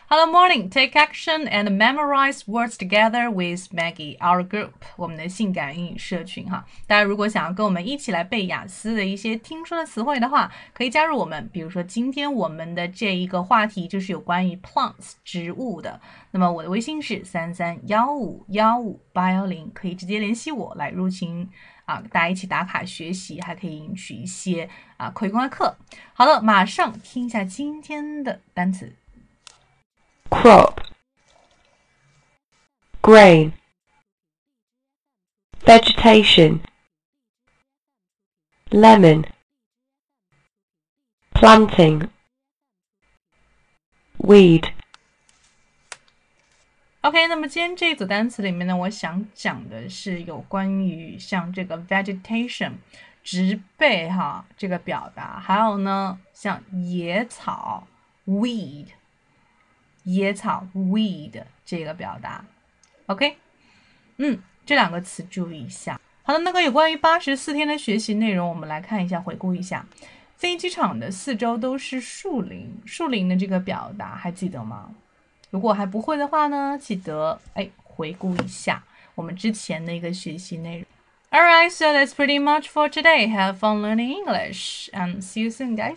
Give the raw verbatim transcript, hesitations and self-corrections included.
Hello morning, take action and memorize words together with Maggie, our group. 我们的性感英语社群哈，大家如果想要跟我们一起来背雅思的一些听说的词汇的话，可以加入我们。比如说今天我们的这一个话题就是有关于 plants 植物的。那么我的微信是三三幺五幺五八幺零，可以直接联系我来入群啊，大家一起打卡学习，还可以领取一些啊口语公开课。好了，马上听一下今天的单词。 crop, grain, vegetation, lemon, planting, weed. OK， 那么今天这一组单词里面呢，我想讲的是有关于像这个 vegetation 植被哈这个表达，还有呢像野草 weed。野草 weed 这个表达 OK 嗯，这两个词注意一下。好的，那个有关于八十四天的学习内容，我们来看一下，回顾一下。飞机场的四周都是树林，树林的这个表达还记得吗？如果还不会的话呢，记得哎回顾一下我们之前的一个学习内容。Alright, so that's pretty much for today. Have fun learning English and see you soon, guys.